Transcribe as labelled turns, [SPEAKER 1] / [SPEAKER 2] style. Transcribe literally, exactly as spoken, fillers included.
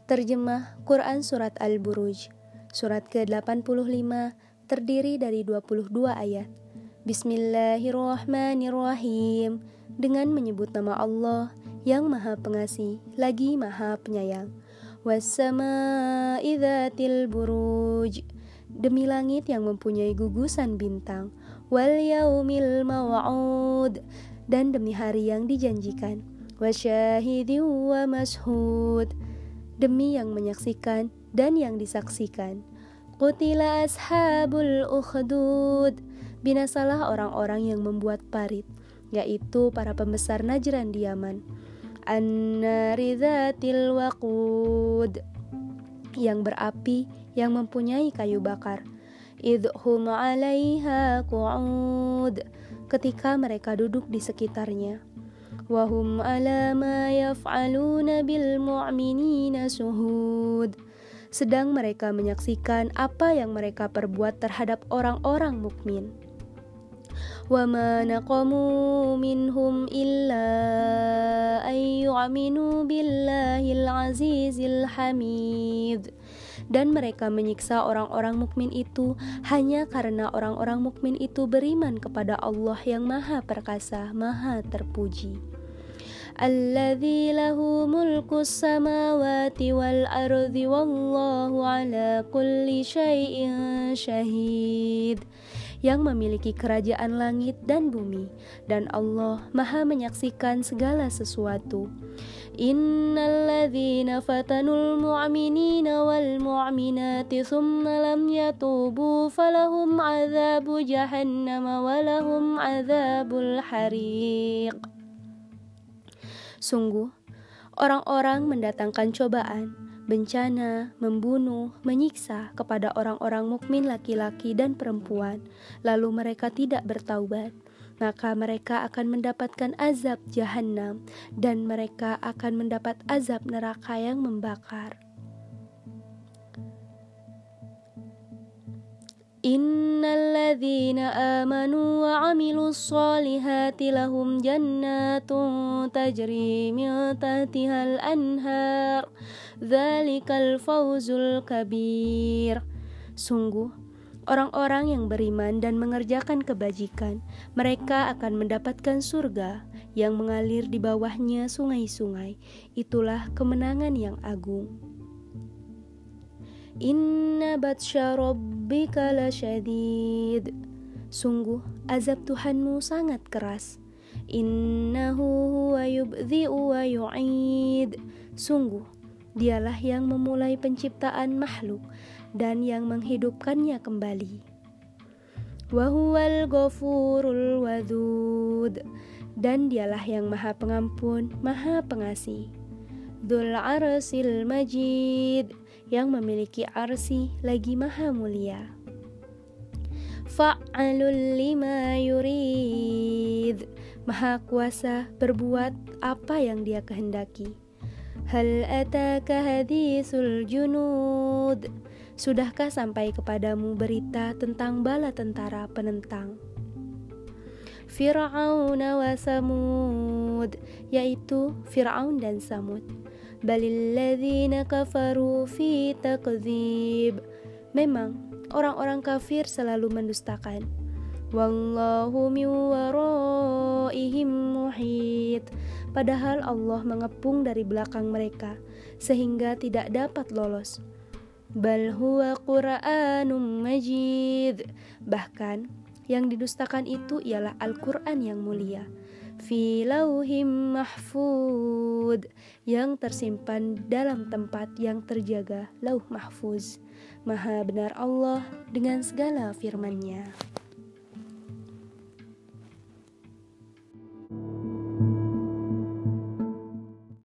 [SPEAKER 1] Terjemah Quran Surat Al-Buruj, Surat ke delapan puluh lima, terdiri dari dua puluh dua ayat. Bismillahirrahmanirrahim. Dengan menyebut nama Allah yang Maha Pengasih lagi Maha Penyayang. Wassama'i dzatil buruj. Demi langit yang mempunyai gugusan bintang. Wal yaumil maw'ud. Dan demi hari yang dijanjikan. Wasyahidin wa mashhud. Demi yang menyaksikan dan yang disaksikan. Qutila ashabul ukhdud. Binasalah orang-orang yang membuat parit, yaitu para pembesar Najran di Yaman. An-nari dzatil waqud, yang berapi yang mempunyai kayu bakar. Idhum 'alaiha qu'ud, ketika mereka duduk di sekitarnya. Wahum 'ala ma yaf'aluna bil mu'minina suhud, sedang mereka menyaksikan apa yang mereka perbuat terhadap orang-orang mukmin. Wa ma naqamu minhum illa ay yu'minu billahil azizil hamid. Dan mereka menyiksa orang-orang mukmin itu hanya karena orang-orang mukmin itu beriman kepada Allah yang Maha Perkasa, Maha Terpuji. Alladzi lahu mulkus samawati wal ardi wallahu ala kulli syai'in syahid, yang memiliki kerajaan langit dan bumi, dan Allah Maha menyaksikan segala sesuatu. Innalladzina fatanul mu'minina wal mu'minati thumma lam yatubu falahum adzabu jahannam walahum adzabul hariq. Sungguh, orang-orang mendatangkan cobaan, bencana, membunuh, menyiksa kepada orang-orang mukmin laki-laki dan perempuan, lalu mereka tidak bertaubat, maka mereka akan mendapatkan azab Jahannam, dan mereka akan mendapat azab neraka yang membakar. Innalladzina amanu wa 'amilus solihati lahum jannatun tajri min tahtihal anhar dzalikal fawzul kabir. Sungguh, orang-orang yang beriman dan mengerjakan kebajikan, mereka akan mendapatkan surga yang mengalir di bawahnya sungai-sungai. Itulah kemenangan yang agung. Inna batsya rabbika lasyadid. Sungguh, azab Tuhanmu sangat keras. Innahu huwa yubdhi'u wa yu'id. Sungguh, dialah yang memulai penciptaan makhluk dan yang menghidupkannya kembali. Wa huwal ghafurul wadud. Dan dialah yang Maha Pengampun, Maha Pengasih. Dzul 'arsyil majid, yang memiliki arsy lagi Maha Mulia. Fa'alul lima yurid, Maha Kuasa berbuat apa yang Dia kehendaki. Hal ataka haditsul junud, sudahkah sampai kepadamu berita tentang bala tentara penentang. Fir'aun wa Samud, yaitu Fir'aun dan Samud. Balil ladzina kafaru fi takdzib, memang orang-orang kafir selalu mendustakan. Wallahu min waraihim muhit, padahal Allah mengepung dari belakang mereka sehingga tidak dapat lolos. Bal huwa Qur'anum majid, bahkan yang didustakan itu ialah Al-Quran yang mulia. Fi lauhim mahfud, yang tersimpan dalam tempat yang terjaga, lauh mahfuz. Maha benar Allah dengan segala firman-Nya.